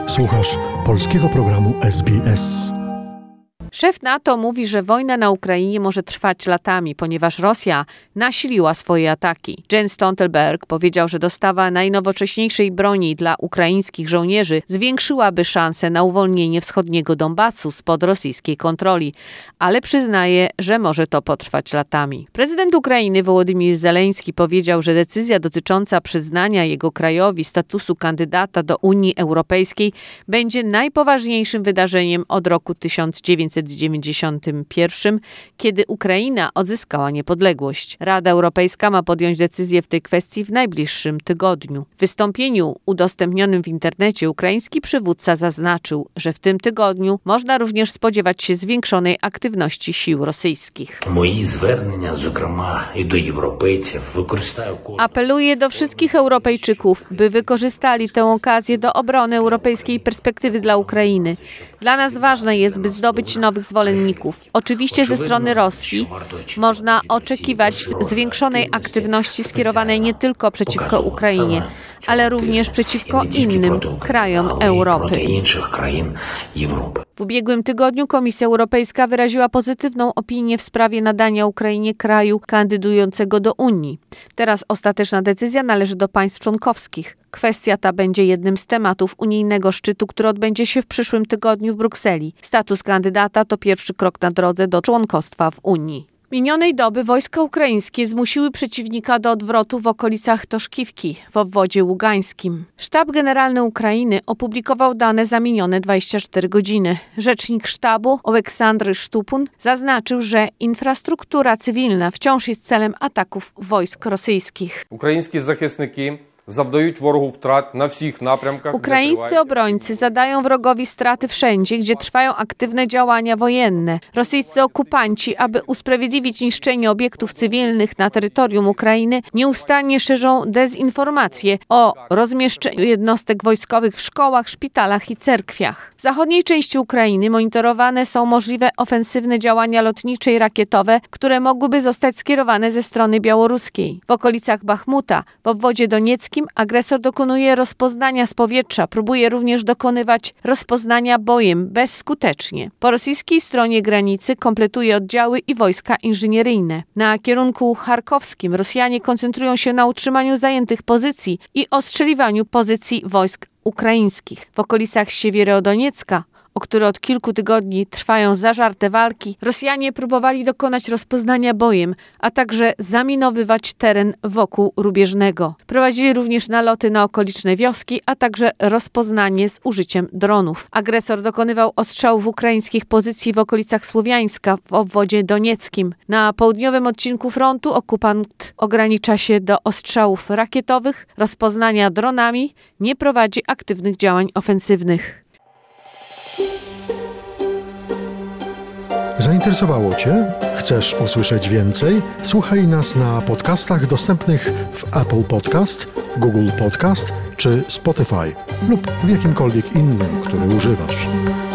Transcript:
Słuchasz polskiego programu SBS. Szef NATO mówi, że wojna na Ukrainie może trwać latami, ponieważ Rosja nasiliła swoje ataki. Jens Stoltenberg powiedział, że dostawa najnowocześniejszej broni dla ukraińskich żołnierzy zwiększyłaby szanse na uwolnienie wschodniego Donbasu spod rosyjskiej kontroli, ale przyznaje, że może to potrwać latami. Prezydent Ukrainy Wołodymyr Zełenski powiedział, że decyzja dotycząca przyznania jego krajowi statusu kandydata do Unii Europejskiej będzie najpoważniejszym wydarzeniem od roku 1991, kiedy Ukraina odzyskała niepodległość. Rada Europejska ma podjąć decyzję w tej kwestii w najbliższym tygodniu. W wystąpieniu udostępnionym w internecie ukraiński przywódca zaznaczył, że w tym tygodniu można również spodziewać się zwiększonej aktywności sił rosyjskich. Apeluję do wszystkich Europejczyków, by wykorzystali tę okazję do obrony europejskiej perspektywy dla Ukrainy. Dla nas ważne jest, by zdobyć nowych zwolenników. Oczywiście ze strony Rosji można oczekiwać zwiększonej aktywności skierowanej nie tylko przeciwko Ukrainie, ale również przeciwko innym krajom Europy. W ubiegłym tygodniu Komisja Europejska wyraziła pozytywną opinię w sprawie nadania Ukrainie kraju kandydującego do Unii. Teraz ostateczna decyzja należy do państw członkowskich. Kwestia ta będzie jednym z tematów unijnego szczytu, który odbędzie się w przyszłym tygodniu w Brukseli. Status kandydata to pierwszy krok na drodze do członkostwa w Unii. Minionej doby wojska ukraińskie zmusiły przeciwnika do odwrotu w okolicach Toszkiwki w obwodzie ługańskim. Sztab Generalny Ukrainy opublikował dane za minione 24 godziny. Rzecznik sztabu Oleksandr Sztupun zaznaczył, że infrastruktura cywilna wciąż jest celem ataków wojsk rosyjskich. Ukraińskie захисники завдають ворогу втрат на всіх напрямках. Ukraińscy obrońcy zadają wrogowi straty wszędzie, gdzie trwają aktywne działania wojenne. Rosyjscy okupanci, aby usprawiedliwić niszczenie obiektów cywilnych na terytorium Ukrainy, nieustannie szerzą dezinformacje o rozmieszczeniu jednostek wojskowych w szkołach, szpitalach i cerkwiach. W zachodniej części Ukrainy monitorowane są możliwe ofensywne działania lotnicze i rakietowe, które mogłyby zostać skierowane ze strony białoruskiej. W okolicach Bachmuta, w obwodzie donieckim, agresor dokonuje rozpoznania z powietrza, próbuje również dokonywać rozpoznania bojem bezskutecznie. Po rosyjskiej stronie granicy kompletuje oddziały i wojska inżynieryjne. Na kierunku charkowskim Rosjanie koncentrują się na utrzymaniu zajętych pozycji i ostrzeliwaniu pozycji wojsk ukraińskich. W okolicach Siewierodoniecka, o które od kilku tygodni trwają zażarte walki, Rosjanie próbowali dokonać rozpoznania bojem, a także zaminowywać teren wokół Rubieżnego. Prowadzili również naloty na okoliczne wioski, a także rozpoznanie z użyciem dronów. Agresor dokonywał ostrzałów ukraińskich pozycji w okolicach Słowiańska w obwodzie donieckim. Na południowym odcinku frontu okupant ogranicza się do ostrzałów rakietowych, rozpoznania dronami, nie prowadzi aktywnych działań ofensywnych. Zainteresowało Cię? Chcesz usłyszeć więcej? Słuchaj nas na podcastach dostępnych w Apple Podcast, Google Podcast czy Spotify lub w jakimkolwiek innym, który używasz.